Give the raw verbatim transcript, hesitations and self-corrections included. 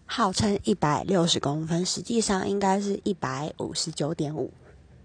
号称一百六十公分，实际上应该是一百五十九点五。